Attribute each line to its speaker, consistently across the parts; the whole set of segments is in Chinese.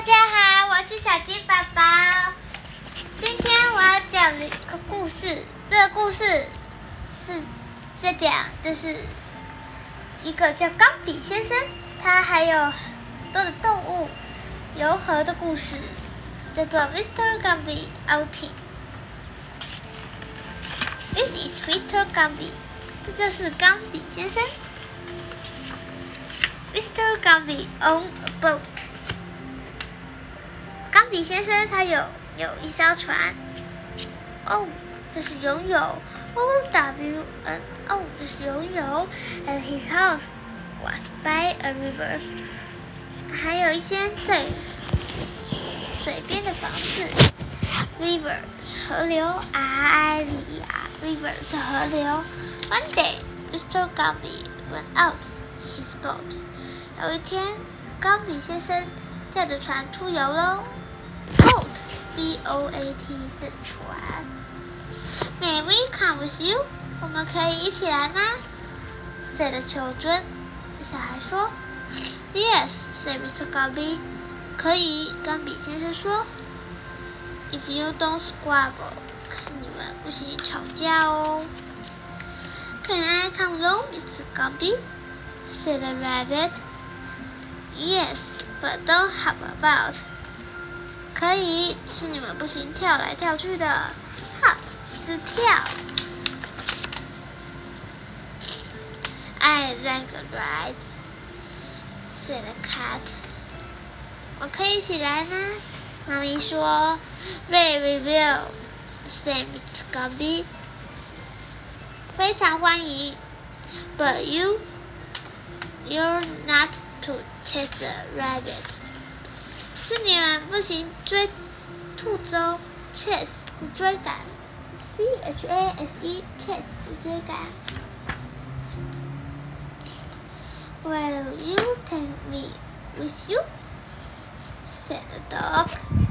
Speaker 1: 家好，我是小鸡宝宝。今天我要讲一个故事，这个故事是在讲就是一个叫钢笔先生，他还有很多的动物柔和的故事，叫做 Mr. Gumby Outing。This is Mr. Gumby， 这就是钢笔先生。Mr. Gumby on a boat。钢笔先生他有一艘船，就是游泳 ，OWNO 就是游泳 ，and his house was by a river， 还有一些在水边的房子 ，river 是河流 ，river 是河流。One day, Mr. Gumby went out his boat。有一天，钢笔先生驾着船出游喽。Boat, B-O-A-T 是船。May we come with you？ 我们可以一起来吗 ？said the children。小孩说 ，Yes, said Mr. Gumby。可以，钢笔先生说。If you don't squabble， 可是你们不许吵架哦。Can I come along, Mr. Gumby？ said the rabbit。Yes, but don't hop about。可以，是你们不行跳来跳去的。Hop 是跳。I like a ride, said the cat。我可以一起来吗？妈咪说 ，Very well, said Mr. Gumby。非常欢迎 ，But you're not to chase a rabbit。是你们不行追兔子哦 ，chase 是追赶 ，C-H-A-S-E chase 是追赶。Will you take me with you? said the dog.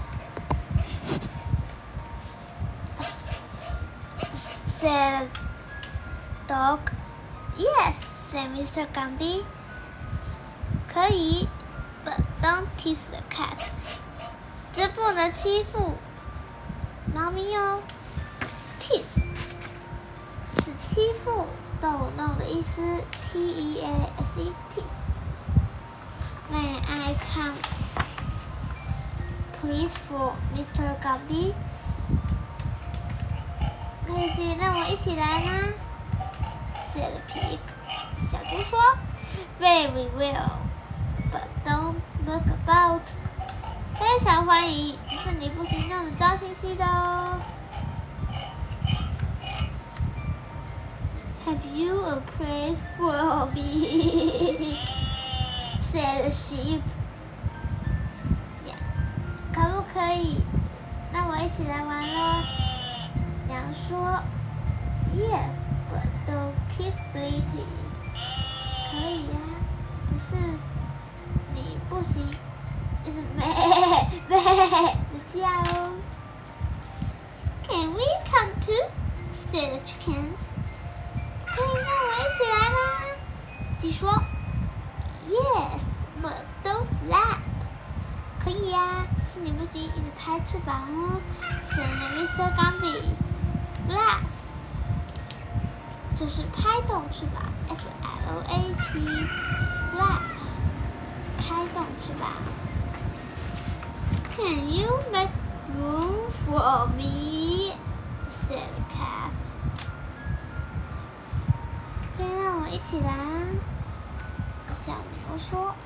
Speaker 1: Said the dog. Yes, said Mr. Gumby. 可以。But don't tease the cat， 这不能欺负猫咪哦。Tease 是欺负、逗弄的意思 ，T-E-A-S-E tease。May I come, please, for Mr. Gumby？ 可以让我一起来吗 ？said the pig。小猪说 ，Very well。But don't look about。 非常欢迎，只是你不行弄得脏兮兮的哦。Have you a place for me? said the sheep。 可不可以让我一起来玩咯？羊说 ，Yes, but don't keep bleating。 可以呀，只是。你不行，一直咩咩的叫哦。Can we come too? said the chickens。 可以让我一起来吗？鸡说 ，Yes, but don't flap。 可以呀，是你不行，一直拍翅膀哦。said Mr. Gumby。 Flap 就是拍动翅膀 ，F-L-A-P。Flap。拍动翅膀。Can you make room for me? said the cat。 可以让我一起来。小牛说。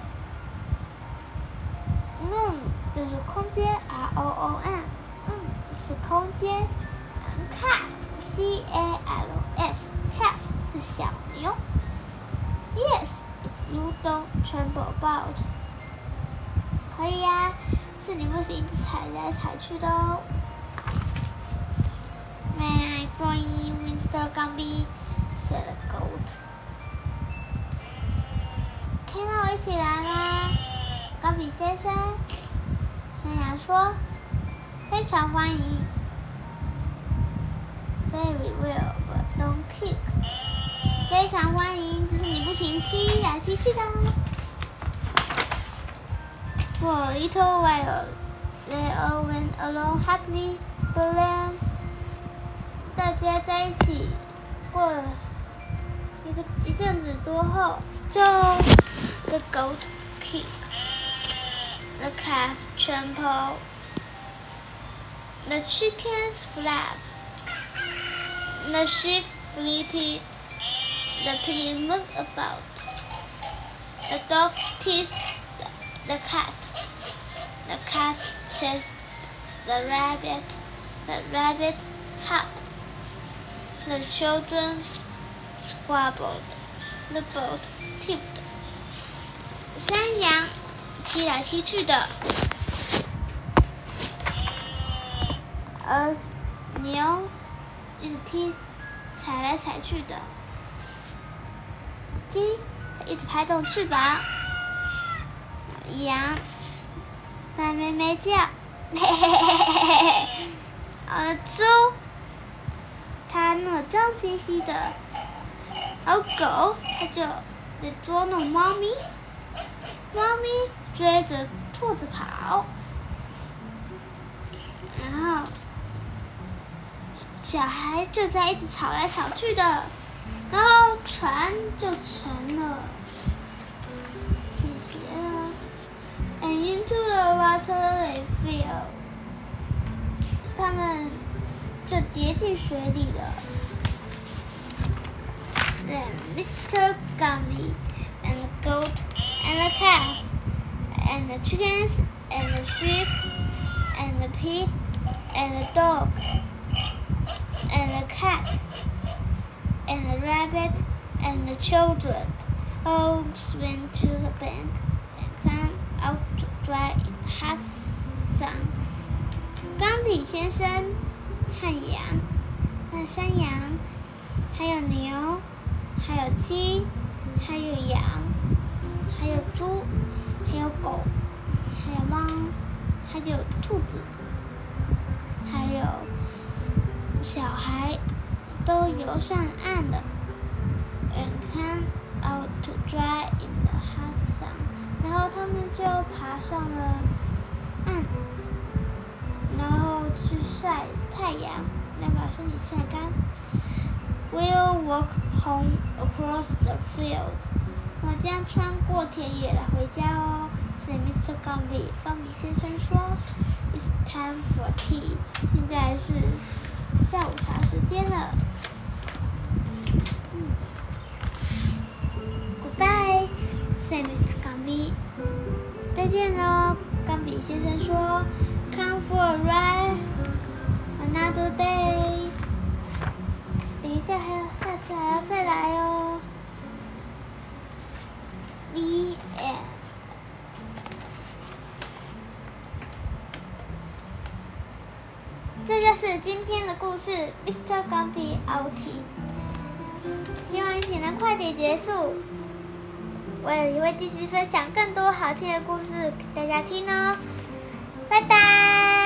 Speaker 1: 就是空间 ，R-O-O-M。是空间。Calf, C-A-L-F。Calf 是小牛。Yes, if you don't trample about。 可以呀，是你不是一直踩来踩去的哦。May I join you, Mr. Gumby? said the goat。 可以让我一起来吗？钢笔先生。山羊说，非常欢迎。Very well, but don't kick。 非常欢迎，只是你不行踢来踢去的哦。 For a little while, they all went along happily, but then 大家在一起过了一阵子多后，就 the goat kicked, the calf trampled, the chickens flapped, the sheep bleated, the pig moved about, the dog teased the cat chased the rabbit hopped, the children squabbled, the boat tipped. 山羊踢来踢去的，而牛一直踩来踩去的，鸡一直拍动翅膀，羊在咩咩叫，嘿嘿嘿嘿嘿嘿。而猪它那脏兮兮的，而狗它就在捉弄猫咪，猫咪追着兔子跑，然后小孩就在一直吵来吵去的，然后船就沉了，倾斜了 ，and into the water they fell， 他们就跌进水里了。Then Mr. Gumby and the goat and the calf and the chickens and the sheep and the pig and the dog and the cat and the rabbit and the children all swam to the bank and climbed out to dry in the hot sun. 冈比先生和羊、和山羊，还有牛，还有鸡，还有羊，还有猪，还有狗，还有猫，还有兔子，还有小孩，都游上岸了。And came out to dry in the hot sun， 然后他们就爬上了岸，然后去晒太阳，要把身体晒干。We'll walk home across the field， 我将穿过田野来回家哦。said Mr. Gumby， 冈比先生说。It's time for tea， 现在是下午茶时间了。Goodbye， said Mr. Gumby， 再见喽，冈比先生说。Come for a ride another day， 等一下下次还要再来哦。The end。这就是今天的故事 ，Mr. Gumby Outie。希望一起能快点结束，我也会继续分享更多好听的故事给大家听哦。拜拜。